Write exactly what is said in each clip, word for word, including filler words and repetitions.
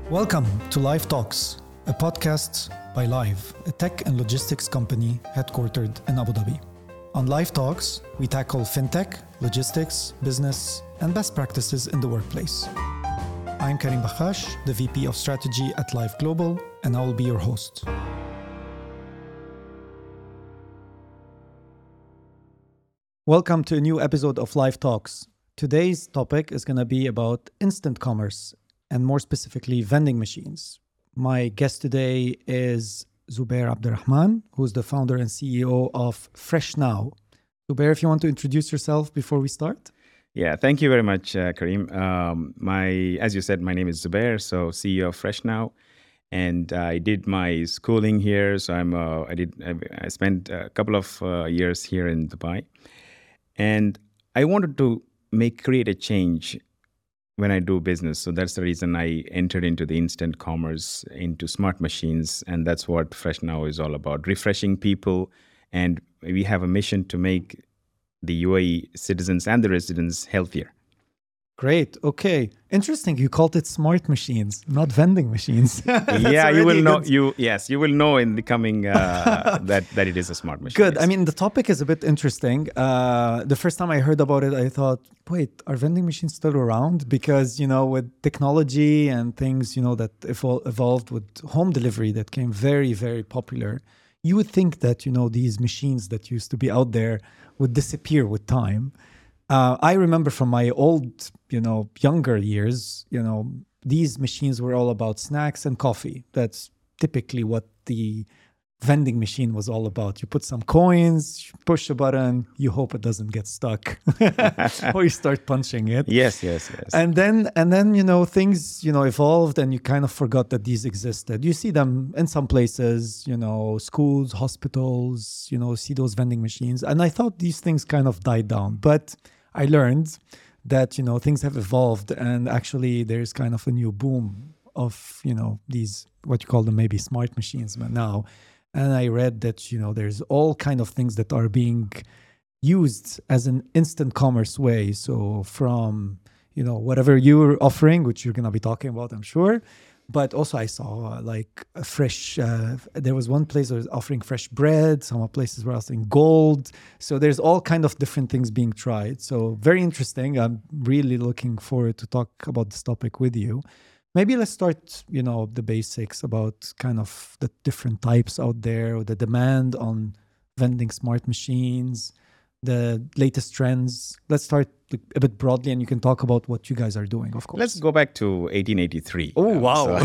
Welcome to Live Talks, a podcast by Live, a tech and logistics company headquartered in Abu Dhabi. On Live Talks, we tackle fintech, logistics, business, and best practices in the workplace. I'm Karim Bakhash, the V P of Strategy at Live Global, and I will be your host. Welcome to a new episode of Live Talks. Today's topic is going to be about instant commerce, and more specifically, vending machines. My guest today is Zubair Abdurrahman, who's the founder and C E O of FreshNow. Zubair, if you want to introduce yourself before we start. Yeah, thank you very much, uh, Karim. Um, my, as you said, my name is Zubair, so C E O of FreshNow, and I did my schooling here. So I'm, uh, I did, I, I spent a couple of uh, years here in Dubai, and I wanted to make create a change when I do business. So that's the reason I entered into the instant commerce, into smart machines. And that's what FreshNow is all about, refreshing people. And we have a mission to make the U A E citizens and the residents healthier. Great. Okay. Interesting. You called it smart machines, not vending machines. Yeah, you will know. Good. You yes, you will know in the coming uh, that that it is a smart machine. Good. Yes. I mean, the topic is a bit interesting. Uh, the first time I heard about it, I thought, wait, are vending machines still around? Because you know, with technology and things, you know, that evol- evolved with home delivery that came very, very popular, you would think that you know these machines that used to be out there would disappear with time. Uh, I remember from my old, you know, younger years, you know, these machines were all about snacks and coffee. That's typically what the vending machine was all about. You put some coins, you push a button, you hope it doesn't get stuck, or you start punching it. Yes, yes, yes. And then, and then, you know, things, you know, evolved, and you kind of forgot that these existed. You see them in some places, you know, schools, hospitals, you know, see those vending machines. And I thought these things kind of died down, but I learned that, you know, things have evolved, and actually there's kind of a new boom of, you know, these, what you call them maybe smart machines now. And I read that, you know, there's all kind of things that are being used as an instant commerce way. So from, you know, whatever you're offering, which you're going to be talking about, I'm sure. But also I saw uh, like a fresh, uh, there was one place that was offering fresh bread. Some places were offering gold. So there's all kind of different things being tried. So very interesting. I'm really looking forward to talk about this topic with you. Maybe let's start, you know, the basics about kind of the different types out there, the demand on vending smart machines, the latest trends. Let's start a bit broadly, and you can talk about what you guys are doing, of course. Let's go back to eighteen eighty-three. Oh, um, wow.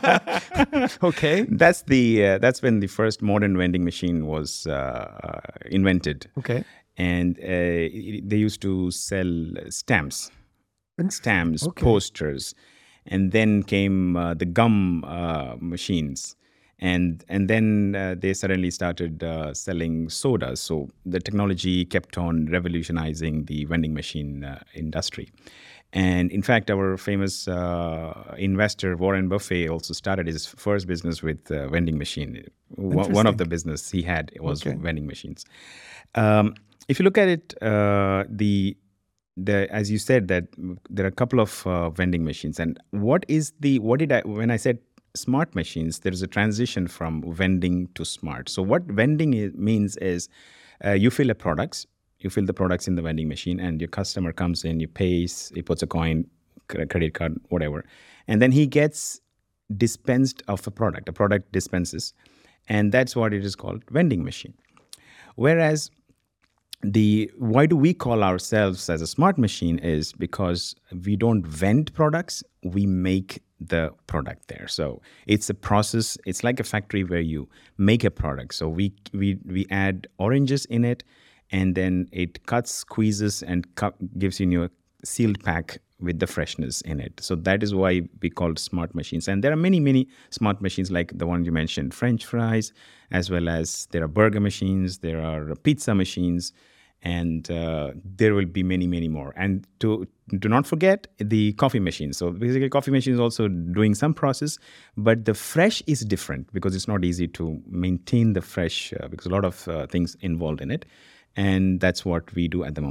So Okay. That's the uh, that's when the first modern vending machine was uh, invented. Okay. And uh, it, they used to sell stamps, stamps, Okay. posters, and then came uh, the gum uh, machines. And and then uh, they suddenly started uh, selling sodas. So the technology kept on revolutionizing the vending machine uh, industry. And in fact, our famous uh, investor, Warren Buffett, also started his first business with uh, vending machine. One one of the business he had was Okay. vending machines. Um, if you look at it, uh, the the as you said that there are a couple of uh, vending machines. And what is the what did I when I said smart machines, there is a transition from vending to smart. So what vending is, means is uh, you fill a products, you fill the products in the vending machine, and your customer comes in, he pays, he puts a coin, credit card, whatever, and then he gets dispensed of a product. A product dispenses, and that's what it is called, vending machine. Whereas the why do we call ourselves as a smart machine is because we don't vend products, we make the product there. So it's a process. It's like a factory where you make a product. So we we we add oranges in it, and then it cuts, squeezes, and cu- gives you a sealed pack with the freshness in it. So that is why we call it smart machines. And there are many, many smart machines like the one you mentioned, French fries, as well as there are burger machines, there are pizza machines, and uh, there will be many, many more. And to do not forget the coffee machine. So basically coffee machine is also doing some process, but the fresh is different because it's not easy to maintain the fresh uh, because a lot of uh, things involved in it. And that's what we do at the moment.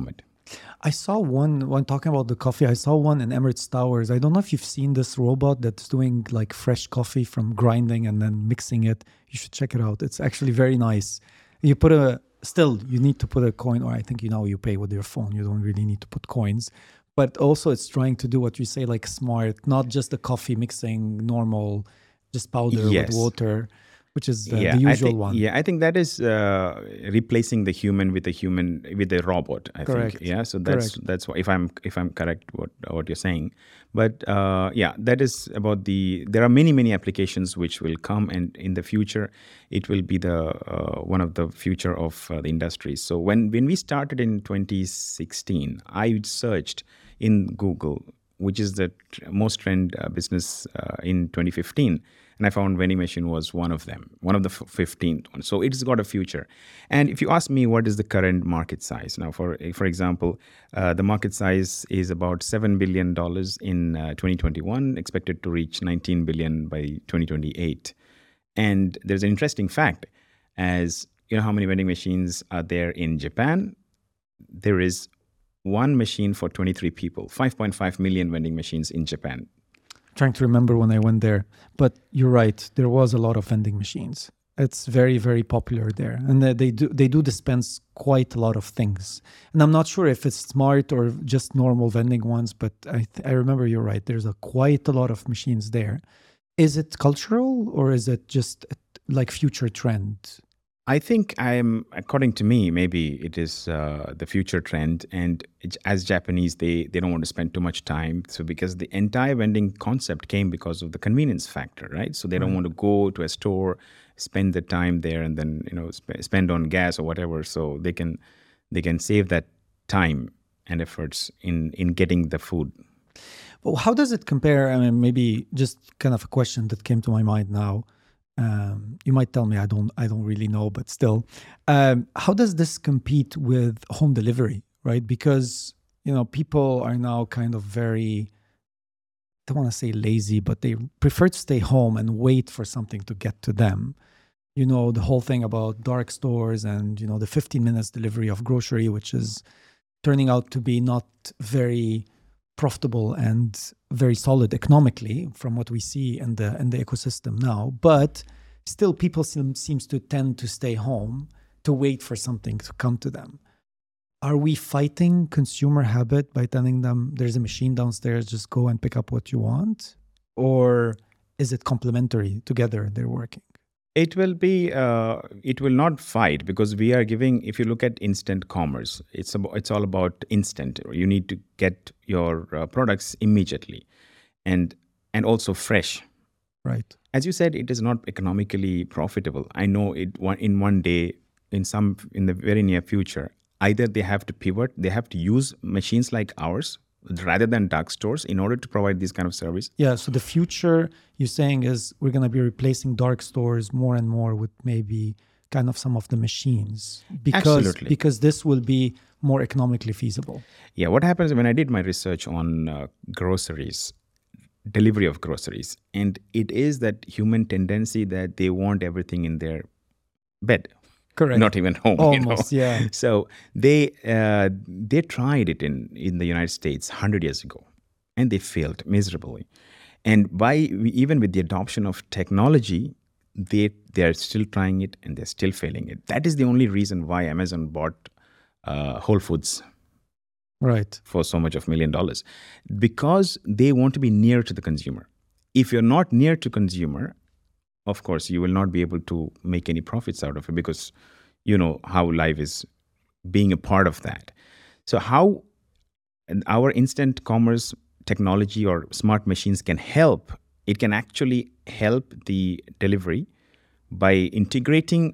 I saw one when talking about the coffee. I saw one in Emirates Towers. I don't know if you've seen this robot that's doing like fresh coffee from grinding and then mixing it. You should check it out. It's actually very nice. You put a still you need to put a coin, or I think you know you pay with your phone. You don't really need to put coins. But also it's trying to do what you say, like smart, not just the coffee mixing normal, just powder Yes. with water, which is the, yeah, the I usual think, one. yeah, I think that is uh, replacing the human with a human with a robot. I Correct. think, yeah. So that's Correct. that's why if I'm if I'm correct what what you're saying, but uh, yeah, that is about the. There are many many applications which will come, and in the future, it will be the uh, one of the future of uh, the industry. So when when we started in twenty sixteen, I searched in Google, which is the tr- most trend uh, business uh, in twenty fifteen. And I found vending machine was one of them, one of the f- fifteenth one. So it's got a future. And if you ask me, what is the current market size? Now, for for example, uh, the market size is about seven billion dollars in uh, twenty twenty-one, expected to reach nineteen billion by twenty twenty-eight. And there's an interesting fact, as you know how many vending machines are there in Japan? There is one machine for twenty-three people, five point five million vending machines in Japan. Trying to remember when I went there, but you're right. There was a lot of vending machines. It's very, very popular there, and they they do they do dispense quite a lot of things. And I'm not sure if it's smart or just normal vending ones, but I th- I remember you're right. There's a quite a lot of machines there. Is it cultural or is it just a, like future trend? I think I'm, according to me, maybe it is uh, the future trend. And it, as Japanese, they, they don't want to spend too much time. So because the entire vending concept came because of the convenience factor, right? So they don't want to go to a store, spend the time there, and then you know sp- spend on gas or whatever. So they can they can save that time and efforts in in getting the food. Well, how does it compare? I mean, maybe just kind of a question that came to my mind now. Um, you might tell me I don't I don't really know, but still, um, how does this compete with home delivery, right? Because you know people are now kind of very, I don't want to say lazy, but they prefer to stay home and wait for something to get to them. You know, the whole thing about dark stores and you know the fifteen minutes delivery of grocery, which is turning out to be not very profitable and very solid economically from what we see in the in the ecosystem now. But still, people seem, seems to tend to stay home to wait for something to come to them. Are we fighting consumer habit by telling them there's a machine downstairs, just go and pick up what you want? Or is it complementary together? They're working. It will be. Uh, it will not fight because we are giving. If you look at instant commerce, it's about. It's all about instant. You need to get your uh, products immediately, and and also fresh. Right. As you said, it is not economically profitable. I know it. One in one day, in some in the very near future, either they have to pivot. They have to use machines like ours rather than dark stores in order to provide this kind of service. Yeah. So the future you're saying is we're going to be replacing dark stores more and more with maybe kind of some of the machines because Absolutely. because this will be more economically feasible. Yeah, what happens when I did my research on uh, groceries, delivery of groceries, and it is that human tendency that they want everything in their bed, Correct. not even home. Almost, you know? yeah. So they uh, they tried it in in the United States one hundred years ago, and they failed miserably. And by even with the adoption of technology, they they are still trying it and they're still failing it. That is the only reason why Amazon bought uh, Whole Foods Right. for so much of million dollars, because they want to be near to the consumer. If you're not near to consumer, of course you will not be able to make any profits out of it, because you know how life is being a part of that. So how our instant commerce technology or smart machines can help, it can actually help the delivery by integrating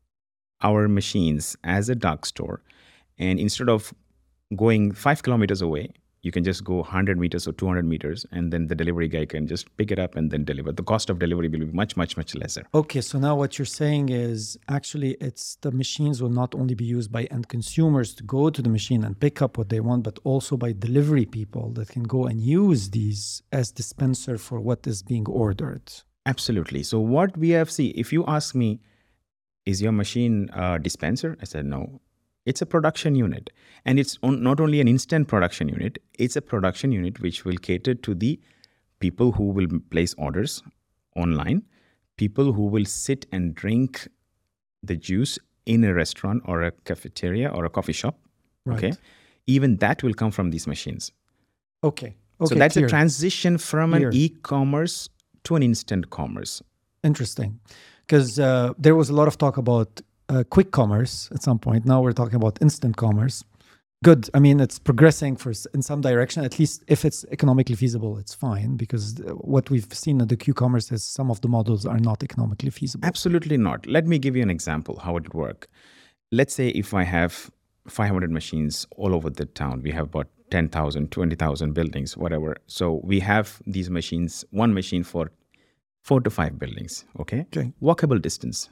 our machines as a dark store, and instead of going five kilometers away, you can just go one hundred meters or two hundred meters, and then the delivery guy can just pick it up and then deliver. The cost of delivery will be much, much, much lesser. Okay, so now what you're saying is actually it's the machines will not only be used by end consumers to go to the machine and pick up what they want, but also by delivery people that can go and use these as dispenser for what is being ordered. Absolutely. So what we have, see, if you ask me, is your machine a dispenser? I said no. It's a production unit. And it's on, not only an instant production unit, it's a production unit which will cater to the people who will place orders online, people who will sit and drink the juice in a restaurant or a cafeteria or a coffee shop. Right. Okay. Even that will come from these machines. Okay. Okay. So that's clear. a transition from Clear. an e-commerce to an instant commerce. Interesting. Because uh, there was a lot of talk about uh, quick commerce at some point. Now we're talking about instant commerce. Good. I mean, it's progressing for s- in some direction. At least if it's economically feasible, it's fine. Because th- what we've seen in the Q-commerce is some of the models are not economically feasible. Absolutely not. Let me give you an example how it would work. Let's say if I have five hundred machines all over the town, we have about ten thousand, twenty thousand buildings, whatever. So we have these machines, one machine for four to five buildings, okay? Okay. Walkable distance,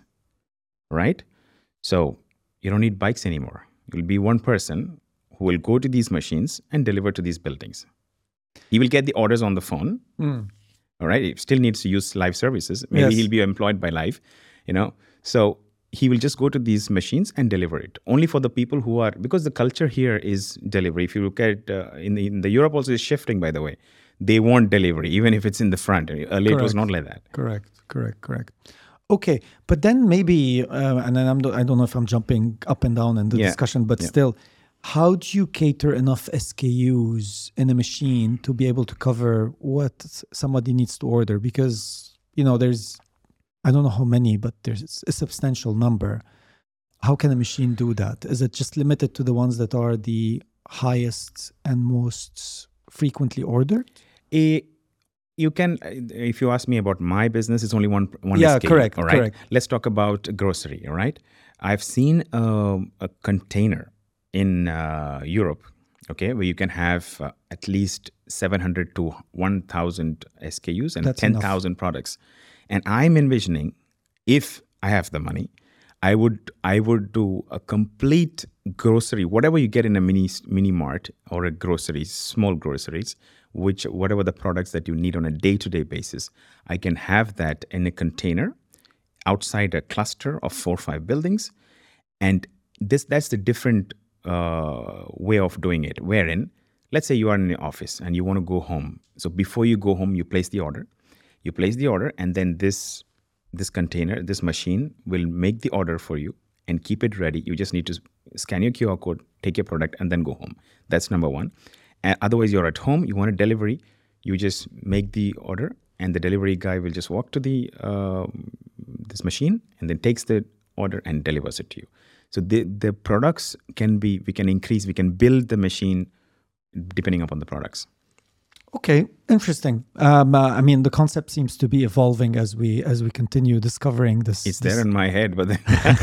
right? So you don't need bikes anymore. You'll be one person who will go to these machines and deliver to these buildings. He will get the orders on the phone, Mm. all right? He still needs to use live services. Maybe Yes. he'll be employed by live, you know? So he will just go to these machines and deliver it. Only for the people who are, because the culture here is delivery. If you look at, uh, in, the, in the Europe also is shifting, by the way. They want delivery, even if it's in the front. Earlier it was Correct. not like that. Correct, correct, correct. Okay, but then maybe, uh, and then I'm, I don't know if I'm jumping up and down in the Yeah, discussion, but yeah. still, how do you cater enough S K Us in a machine to be able to cover what s- somebody needs to order? Because, you know, there's, I don't know how many, but there's a substantial number. How can a machine do that? Is it just limited to the ones that are the highest and most frequently ordered? A, you can, if you ask me about my business, it's only one one Yeah, S K U, correct, all right? correct. Let's talk about grocery, all right? I've seen um, a container in uh, Europe, okay, where you can have uh, at least seven hundred to one thousand S K Us and That's enough. ten thousand products. And I'm envisioning, if I have the money, I would I would do a complete grocery, whatever you get in a mini mini mart or a grocery, small groceries, which whatever the products that you need on a day-to-day basis, I can have that in a container outside a cluster of four or five buildings. And this that's the different uh, way of doing it. Wherein, let's say you are in the office and you want to go home. So before you go home, you place the order. You place the order, and then this this container, this machine will make the order for you and keep it ready. You just need to scan your Q R code, take your product, and then go home. That's number one. And otherwise, you're at home, you want a delivery, you just make the order, and the delivery guy will just walk to the um this machine and then takes the order and delivers it to you. So the the products can be, we can increase, we can build the machine depending upon the products. Okay, interesting. Um, uh, I mean, the concept seems to be evolving as we as we continue discovering this. It's this- there in my head, but then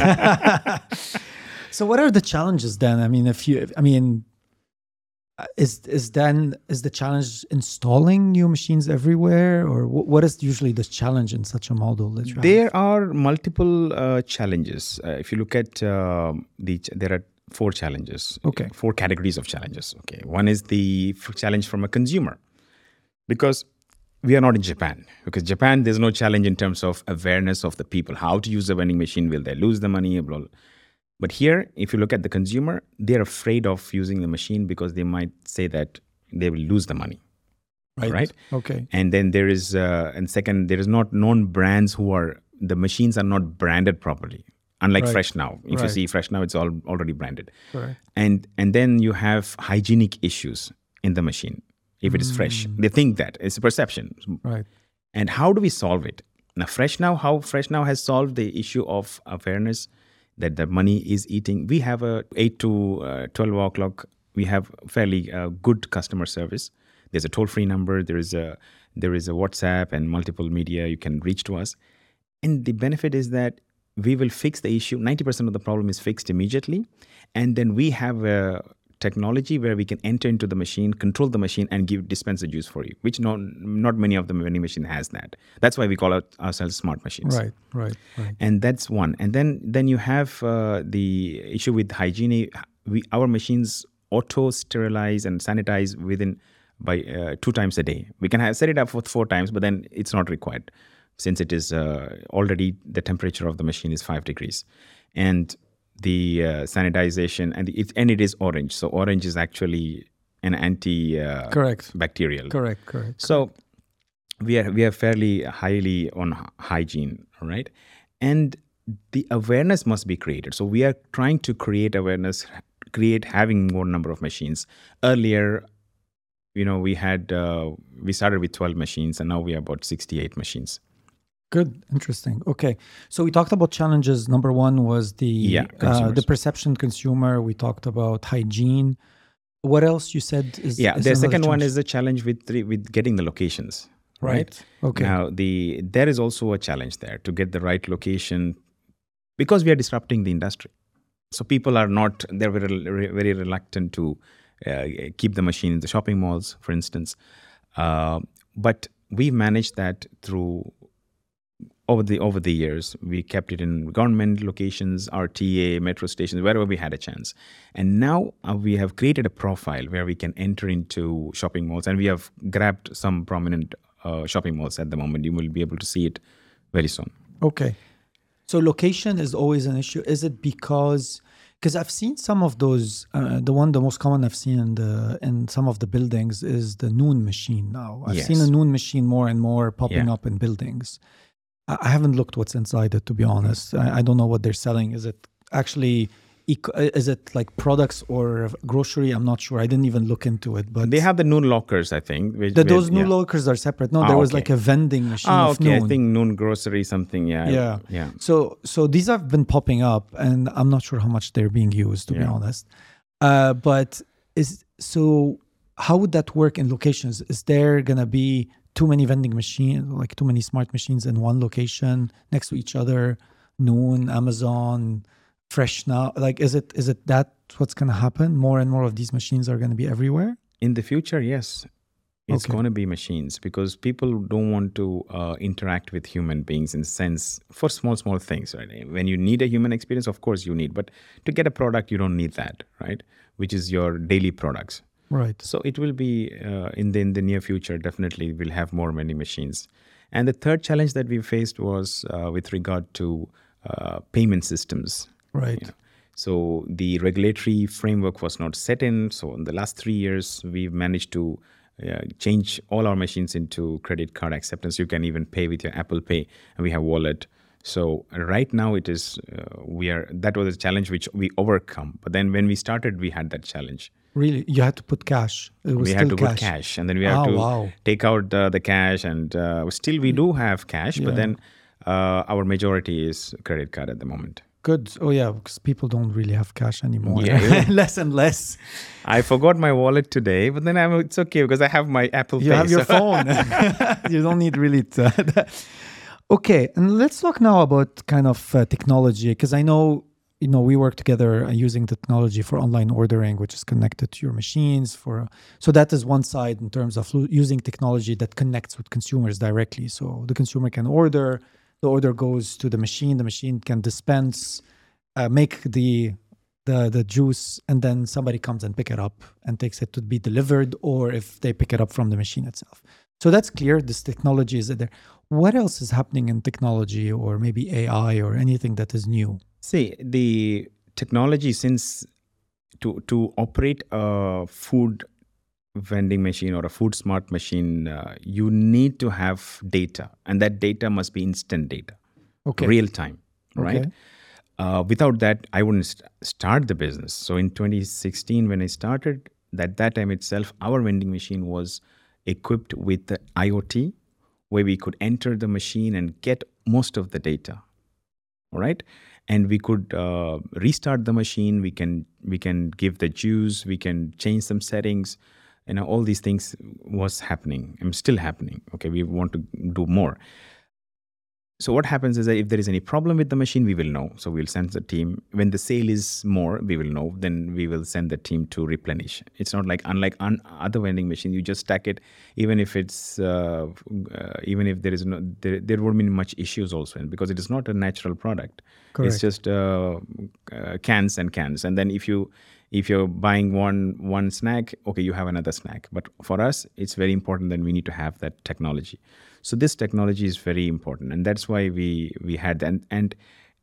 So, what are the challenges then? I mean, if you, I mean, uh, is is then is the challenge installing new machines everywhere, or wh- what is usually the challenge in such a model that you have? there are multiple uh, challenges. Uh, if you look at um, the, ch- there are four challenges. Okay. Four categories of challenges. Okay. One is the f- challenge from a consumer, because we are not in Japan. Because Japan, there's no challenge in terms of awareness of the people, how to use the vending machine, will they lose the money, blah, blah. But here, if you look at the consumer, they're afraid of using the machine because they might say that they will lose the money. right? Okay. And then there is, uh, and second, there is not known brands who are, the machines are not branded properly. Unlike Right. Fresh Now. If you Right. see Fresh Now, it's all already branded. Correct. And and then you have hygienic issues in the machine if it is fresh. They think that. It's a perception. Right. And how do we solve it? Now, Fresh Now, how Fresh Now has solved the issue of awareness that the money is eating. We have a eight to uh, twelve o'clock, we have fairly uh, good customer service. There's a toll-free number. There is a there is a WhatsApp and multiple media you can reach to us. And the benefit is that we will fix the issue. ninety percent of the problem is fixed immediately. And then we have a technology where we can enter into the machine, control the machine, and give dispense the juice for you, which not, not many of the vending machine has that. That's why we call out ourselves smart machines. Right. Right. Right. And that's one. And then then you have uh, the issue with hygiene. We, our machines auto sterilize and sanitize within by uh, two times a day. We can have, set it up for four times, but then it's not required since it is uh, already the temperature of the machine is five degrees. And the uh, sanitization, and it, and it is orange. So orange is actually an anti uh, Correct. bacterial. Correct. Correct. So we are we are fairly highly on hy- hygiene, all right? And the awareness must be created. So we are trying to create awareness, create having more number of machines. Earlier, you know, we had uh, we started with twelve machines, and now we are about sixty-eight machines. Good, interesting. Okay, so we talked about challenges. Number one was the Yeah, uh, consumers. the perception consumer. We talked about hygiene. What else you said is Yeah, is the another second one challenge? is the challenge with the, with getting the locations. Right. Okay. Now the there is also a challenge there to get the right location, because we are disrupting the industry. So people are not, they're very, very reluctant to uh, keep the machine in the shopping malls, for instance. Uh, but we managed that through over the over the years. We kept it in government locations, R T A, metro stations, wherever we had a chance. And now uh, we have created a profile where we can enter into shopping malls, and we have grabbed some prominent uh, shopping malls at the moment. You will be able to see it very soon. Okay. So location is always an issue. Is it because because I've seen some of those? Uh, the one, the most common I've seen in the in some of the buildings is the Noon machine. Now I've Yes. seen a Noon machine more and more popping Yeah. up in buildings. I I haven't looked what's inside it, to be honest. I, I don't know what they're selling. Is it actually? Eco, is it like products or grocery? I'm not sure. I didn't even look into it. But They have the Noon lockers, I think. Which, the, with- those Noon yeah. lockers are separate. No, Ah, there was okay. like a vending machine Ah, of okay. Noon. I think Noon grocery something. Yeah. Yeah. Yeah. So so these have been popping up, and I'm not sure how much they're being used, to be Yeah. honest. Uh, but is so how would that work in locations? Is there gonna be too many vending machines, like too many smart machines in one location next to each other? Noon, Amazon, Fresh Now. Like, is it is it that what's gonna happen? More and more of these machines are gonna be everywhere. In the future, yes. It's Okay. going to be machines, because people don't want to uh, interact with human beings in sense for small, small things, right? When you need a human experience, of course you need, but to get a product, you don't need that, right? Which is your daily products. Right. So it will be uh, in the in the near future. Definitely, we'll have more vending machines. And the third challenge that we faced was uh, with regard to uh, payment systems. Right. You know. So the regulatory framework was not set in. So in the last three years, we've managed to uh, change all our machines into credit card acceptance. You can even pay with your Apple Pay, and we have wallet. So right now it is uh, we are that was a challenge which we overcome. But then when we started, we had that challenge. Really, you had to put cash. It was We still had to cash. put cash, and then we had Ah, to wow. take out uh, the cash, and uh, still we do have cash, Yeah. but then uh, our majority is credit card at the moment. Good. Oh yeah, because people don't really have cash anymore. Yeah. Less and less. I forgot my wallet today, but then I'm, it's okay because I have my Apple You Pay. have your so- phone. You don't need really to. Okay, and let's talk now about kind of uh, technology, because I know you know we work together uh, using technology for online ordering, which is connected to your machines. For so that is one side in terms of lo- using technology that connects with consumers directly. So the consumer can order, the order goes to the machine, the machine can dispense, uh, make the the the juice, and then somebody comes and pick it up and takes it to be delivered, or if they pick it up from the machine itself. So that's clear. This technology is there. What else is happening in technology, or maybe A I, or anything that is new? See, the technology, since to to operate a food vending machine or a food smart machine, uh, you need to have data, and that data must be instant data, Okay. real time, right? Okay. Uh, without that, I wouldn't st- start the business. So in twenty sixteen, when I started, at that time itself, our vending machine was equipped with the IoT, where we could enter the machine and get most of the data. All right, and we could uh, restart the machine. We can we can give the juice. We can change some settings. You know, all these things was happening and still happening. Okay, we want to do more. So what happens is that if there is any problem with the machine, we will know. So we'll send the team. When the sale is more, we will know. Then we will send the team to replenish. It's not like unlike un- other vending machine. You just stack it, even if it's uh, uh, even if there is no there, there won't be much issues also, because it is not a natural product. Correct. It's just uh, uh, cans and cans. And then if you if you're buying one one snack, okay, you have another snack. But for us, it's very important that we need to have that technology. So this technology is very important, and that's why we we had and and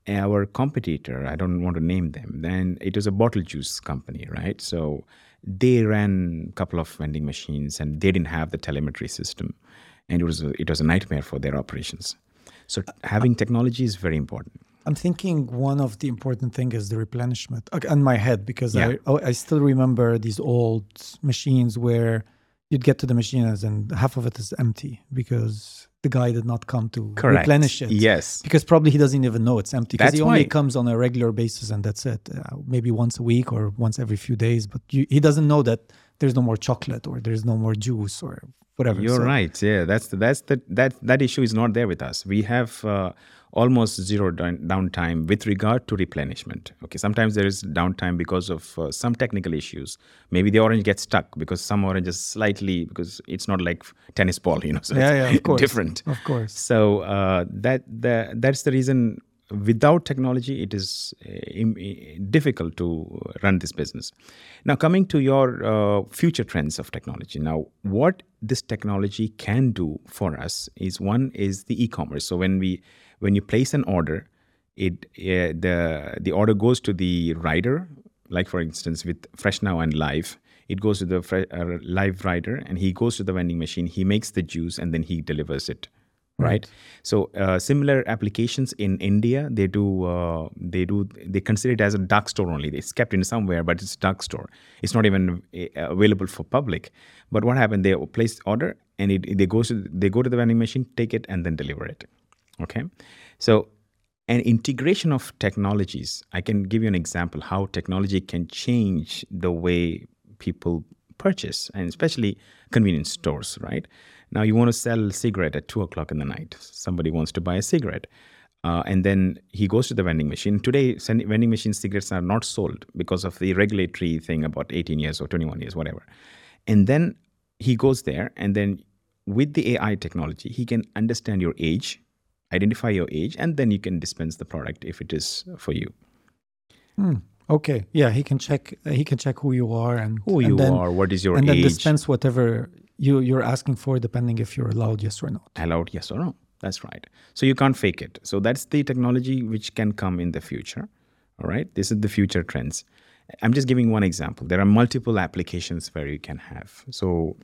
our competitor, I don't want to name them, then it was a bottle juice company, right? So they ran a couple of vending machines and they didn't have the telemetry system. And it was a, it was a nightmare for their operations. So having technology is very important. I'm thinking one of the important thing is the replenishment uh, in my head, because Yeah. I oh, I still remember these old machines where you'd get to the machines and half of it is empty because the guy did not come to Correct. replenish it. Yes. Because probably he doesn't even know it's empty, because That's he only why- comes on a regular basis and that's it. Uh, maybe once a week or once every few days, but you, he doesn't know that there's no more chocolate or there's no more juice or whatever. You're So- right. Yeah, that's the, that's the that that issue is not there with us. We have uh, almost zero down, downtime with regard to replenishment. Okay, sometimes there is downtime because of uh, some technical issues. Maybe the orange gets stuck because some orange is slightly, because it's not like tennis ball, you know. So Yeah, it's yeah, of course. different. Of course. So uh, that the, that's the reason. Without technology, it is uh, im- i- difficult to run this business. Now, coming to your uh, future trends of technology. Now, what this technology can do for us is, one is the e-commerce. So when we when you place an order, it uh, the the order goes to the rider. Like for instance, with Fresh Now and Live, it goes to the fre- uh, live rider, and he goes to the vending machine. He makes the juice, and then he delivers it. Right. So uh, similar applications in India, they do uh, they do they consider it as a dark store only. It's kept in somewhere, but it's dark store. It's not even uh, available for public. But what happened? They place the order, and it they goes to they go to the vending machine, take it, and then deliver it. Okay. So an integration of technologies. I can give you an example how technology can change the way people purchase, and especially convenience stores. Right. Now, you want to sell a cigarette at two o'clock in the night. Somebody wants to buy a cigarette. Uh, and then he goes to the vending machine. Today, sen- vending machine cigarettes are not sold because of the regulatory thing about eighteen years or twenty-one years, whatever. And then he goes there, and then with the A I technology, he can understand your age, identify your age, and then you can dispense the product if it is for you. Hmm. Okay. Yeah, he can check. Uh, he can check who you are and Who and you then, are, what is your and then age, dispense whatever you you're asking for, depending if you're allowed, yes or no. allowed, yes or no. That's right. So you can't fake it. So that's the technology which can come in the future. All right. This is the future trends. I'm just giving one example. There are multiple applications where you can have. So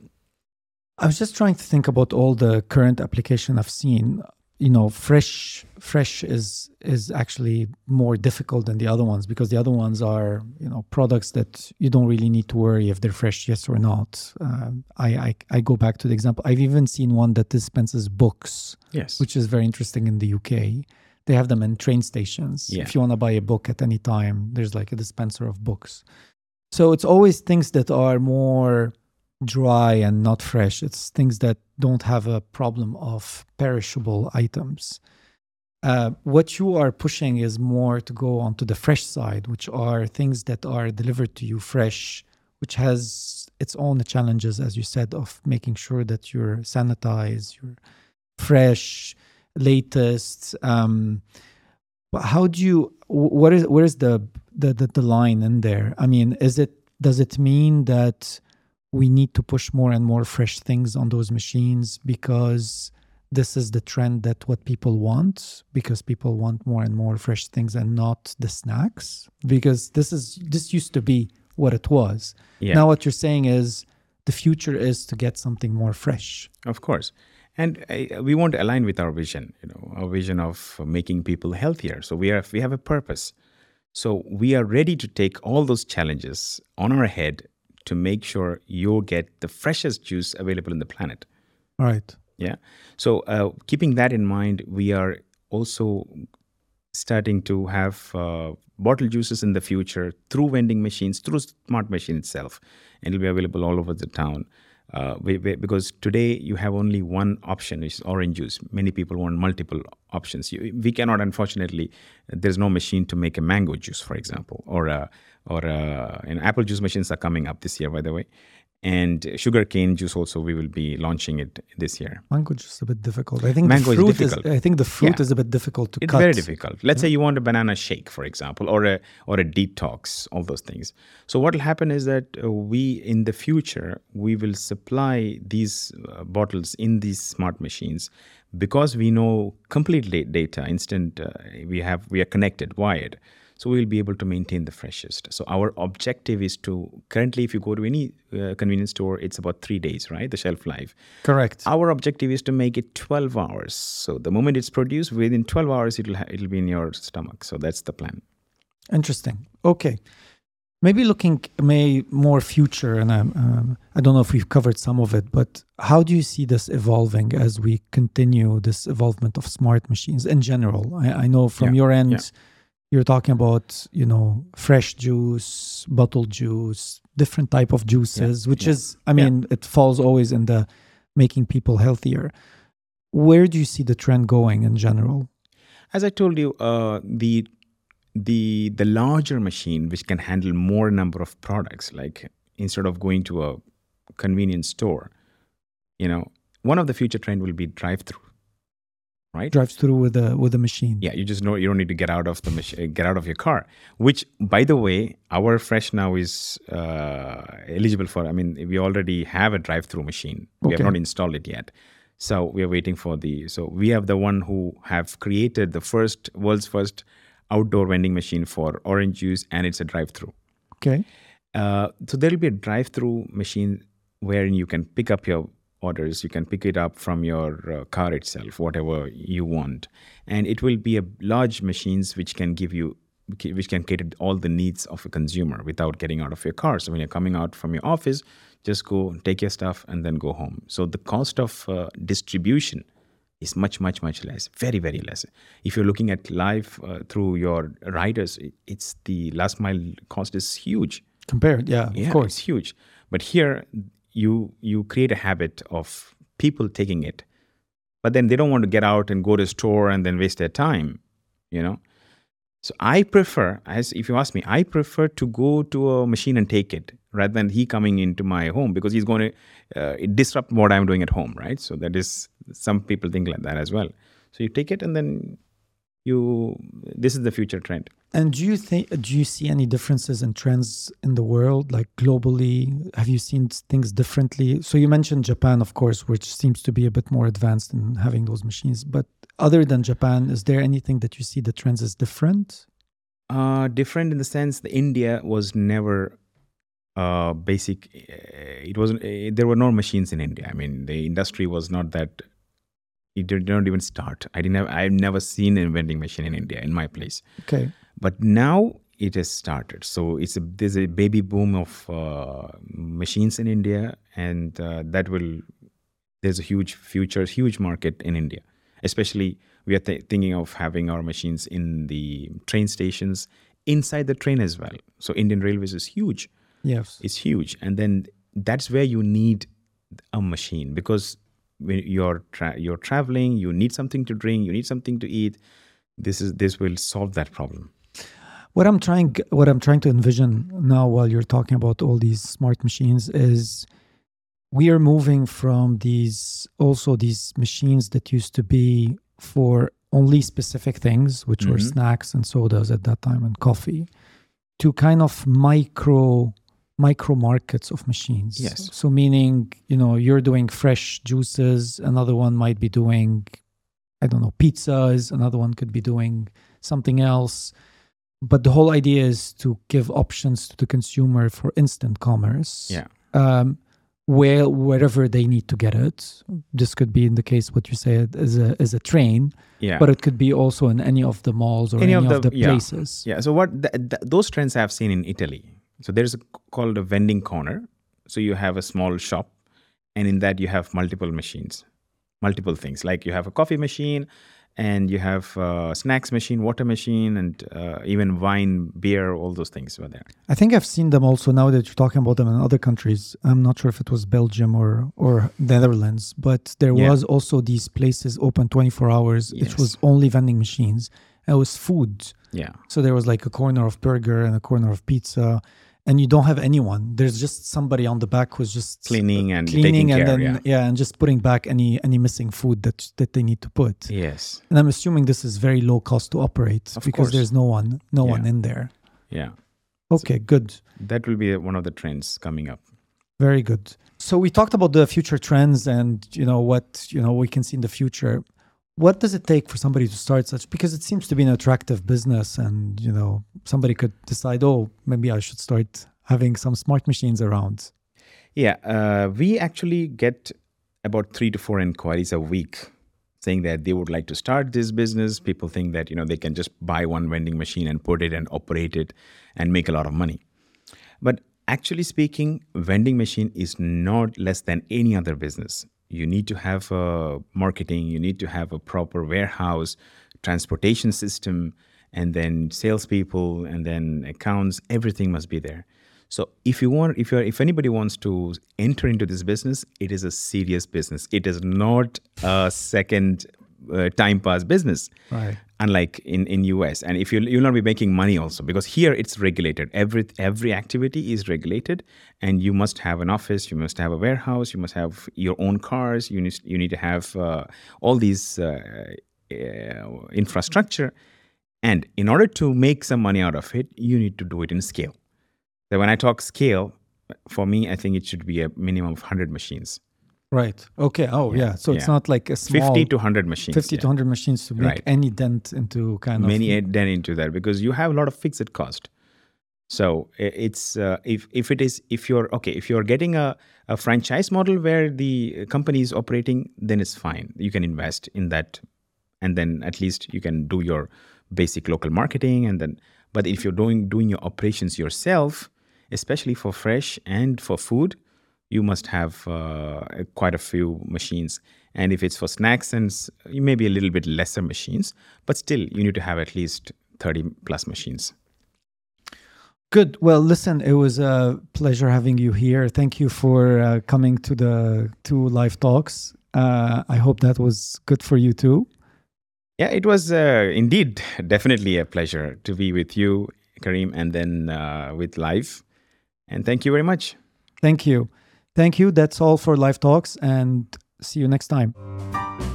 I was just trying to think about all the current application I've seen. You know, fresh fresh is is actually more difficult than the other ones, because the other ones are, you know, products that you don't really need to worry if they're fresh, yes or not. Um, I, I I go back to the example. I've even seen one that dispenses books, yes, which is very interesting in the U K. They have them in train stations. Yeah. If you want to buy a book at any time, there's like a dispenser of books. So it's always things that are more dry and not fresh. It's things that don't have a problem of perishable items. Uh, what you are pushing is more to go onto the fresh side, which are things that are delivered to you fresh, which has its own challenges, as you said, of making sure that you're sanitized, you're fresh, latest. Um, but how do you? wh- What is? Where is the, the the the line in there? I mean, is it? Does it mean that we need to push more and more fresh things on those machines because this is the trend, that what people want, because people want more and more fresh things and not the snacks? Because this is this used to be what it was. yeah, Now what you're saying is the future is to get something more fresh. of course. And uh, we want to align with our vision, you know, our vision of making people healthier. So we are we have a purpose. So we are ready to take all those challenges on our head to make sure you get the freshest juice available in the planet. All right. Yeah. So uh, keeping that in mind, we are also starting to have uh, bottle juices in the future through vending machines, through Smart Machine itself, and it'll be available all over the town. Uh, we, we, because today you have only one option, which is orange juice. Many people want multiple options. You, we cannot, unfortunately, there's no machine to make a mango juice, for example, or a, or a, and apple juice machines are coming up this year, by the way. And sugarcane juice also, we will be launching it this year. Mango juice is a bit difficult. I think Mango the fruit is difficult. I think the fruit Yeah. is a bit difficult to It's cut. very difficult. Let's say you want a banana shake, for example, or a or a detox, all those things. So what will happen is that uh, we, in the future, we will supply these uh, bottles in these smart machines because we know complete da- data, instant. Uh, we have we are connected, wired. So we'll be able to maintain the freshest. So our objective is to, currently, if you go to any uh, convenience store, it's about three days, right? The shelf life. Correct. Our objective is to make it twelve hours. So the moment it's produced, within twelve hours, it'll ha- it'll be in your stomach. So that's the plan. Interesting. Okay. Maybe looking may more future, and I'm, um, I don't know if we've covered some of it, but how do you see this evolving as we continue this evolvement of smart machines in general? I, I know from Yeah, your end, yeah. you're talking about, you know, fresh juice, bottled juice, different type of juices, which yeah, is, I mean, it falls always in the making people healthier. Where do you see the trend going in general? As I told you, uh, the the the larger machine which can handle more number of products, like instead of going to a convenience store, you know, one of the future trend will be drive-through, right? Drives through with a with a machine. Yeah, you just know you don't need to get out of the mach- get out of your car. Which, by the way, our Fresh now is uh, eligible for. I mean, we already have a drive-through machine. We Okay. have not installed it yet, so we are waiting for the. So we have the one who have created the first world's first outdoor vending machine for orange juice, and it's a drive-through. Okay. Uh, so there will be a drive-through machine wherein you can pick up your orders. You can pick it up from your uh, car itself, whatever you want, and it will be a large machines which can give you, which can cater all the needs of a consumer without getting out of your car. So when you're coming out from your office, just go take your stuff and then go home. So the cost of uh, distribution is much, much, much less. Very, very less. If you're looking at life uh, through your riders, it- it's the last mile cost is huge. Compared, yeah, Yeah, of course. it's huge. But here, you you create a habit of people taking it, but then they don't want to get out and go to a store and then waste their time, you know. So I prefer, as if you ask me, I prefer to go to a machine and take it rather than he coming into my home, because he's going to uh, disrupt what I'm doing at home, right? So that is, some people think like that as well. So you take it and then you, this is the future trend. And do you think, do you see any differences in trends in the world, like globally? Have you seen things differently? So you mentioned Japan, of course, which seems to be a bit more advanced in having those machines. But other than Japan, is there anything that you see the trends is different? Uh, different in the sense that India was never uh, basic. uh, It wasn't. Uh, there were no machines in India. I mean, the industry was not that. It did not even start. I didn't have. I've never seen a vending machine in India in my place. Okay. But now it has started. So it's a, there's a baby boom of uh, machines in India, and uh, that will. There's a huge future, huge market in India. Especially, we are th- thinking of having our machines in the train stations, inside the train as well. So Indian Railways is huge. Yes. It's huge, and then that's where you need a machine, because when you're tra- you're traveling, you need something to drink, you need something to eat. This is this will solve that problem. What I'm trying, what I'm trying to envision now, while you're talking about all these smart machines, is we are moving from these also these machines that used to be for only specific things, which were Mhm. snacks and sodas at that time and coffee, to kind of micro micro markets of machines. Yes. So meaning, you know, you're doing fresh juices, another one might be doing, I don't know, pizzas, another one could be doing something else. But the whole idea is to give options to the consumer for instant commerce. Yeah. Um, where wherever they need to get it. This could be in the case what you said as a as a train, Yeah. but it could be also in any of the malls or any, of the, yeah. places. Yeah. So what th- th- those trends I've seen in Italy. So there's a, called a vending corner. So you have a small shop, and in that you have multiple machines, multiple things. Like you have a coffee machine, and you have a snacks machine, water machine, and uh, even wine, beer. All those things were there. I think I've seen them also now that you're talking about them in other countries. I'm not sure if it was Belgium or or Netherlands, but there Yeah. was also these places open twenty-four hours. Yes. It was only vending machines. It was food. Yeah. So there was like a corner of burger and a corner of pizza. and you don't have anyone. There's just somebody on the back who's just cleaning and cleaning taking and care, then yeah. and just putting back any any missing food that that they need to put. Yes. And I'm assuming this is very low cost to operate Of because course. there's no one no Yeah. one in there. Yeah. Okay, good. That will be one of the trends coming up. Very good. So we talked about the future trends and you know what you know we can see in the future. What does it take for somebody to start such? Because it seems to be an attractive business, and you know somebody could decide, oh, maybe I should start having some smart machines around. Yeah, uh, we actually get about three to four inquiries a week saying that they would like to start this business. People think that you know they can just buy one vending machine and put it and operate it and make a lot of money. But actually speaking, vending machine is not less than any other business. You need to have uh, marketing, you need to have a proper warehouse, transportation system, and then salespeople, and then accounts. Everything must be there. So if you want, if you're, if anybody wants to enter into this business, it is a serious business. It is not a second uh, time pass business. Right. Unlike in, in U S. And if you you'll not be making money also, because here it's regulated. Every every activity is regulated, and you must have an office, you must have a warehouse, you must have your own cars, you need you need to have uh, all these uh, uh, infrastructure. And in order to make some money out of it, you need to do it in scale. So when I talk scale, for me, I think it should be a minimum of one hundred machines. Right. Okay. Oh, yeah. Yeah, So it's yeah. not like a small fifty to one hundred machines. fifty yeah. to one hundred machines to make Right. any dent into kind of Many add then into that, because you have a lot of fixed cost. So i- it's uh, if if it is if you're okay if you're getting a, a franchise model where the company is operating, then it's fine. You can invest in that, and then at least you can do your basic local marketing, and then. But if you're doing doing your operations yourself, especially for fresh and for food, you must have uh, quite a few machines. And if it's for snacks and s- you may be a little bit lesser machines, but still you need to have at least thirty plus machines. Good. Well, listen, it was a pleasure having you here. Thank you for uh, coming to the two live talks. Uh, I hope that was good for you too. Yeah, it was uh, indeed definitely a pleasure to be with you, Kareem, and then uh, with Live. And thank you very much. Thank you. Thank you. That's all for live talks, and see you next time.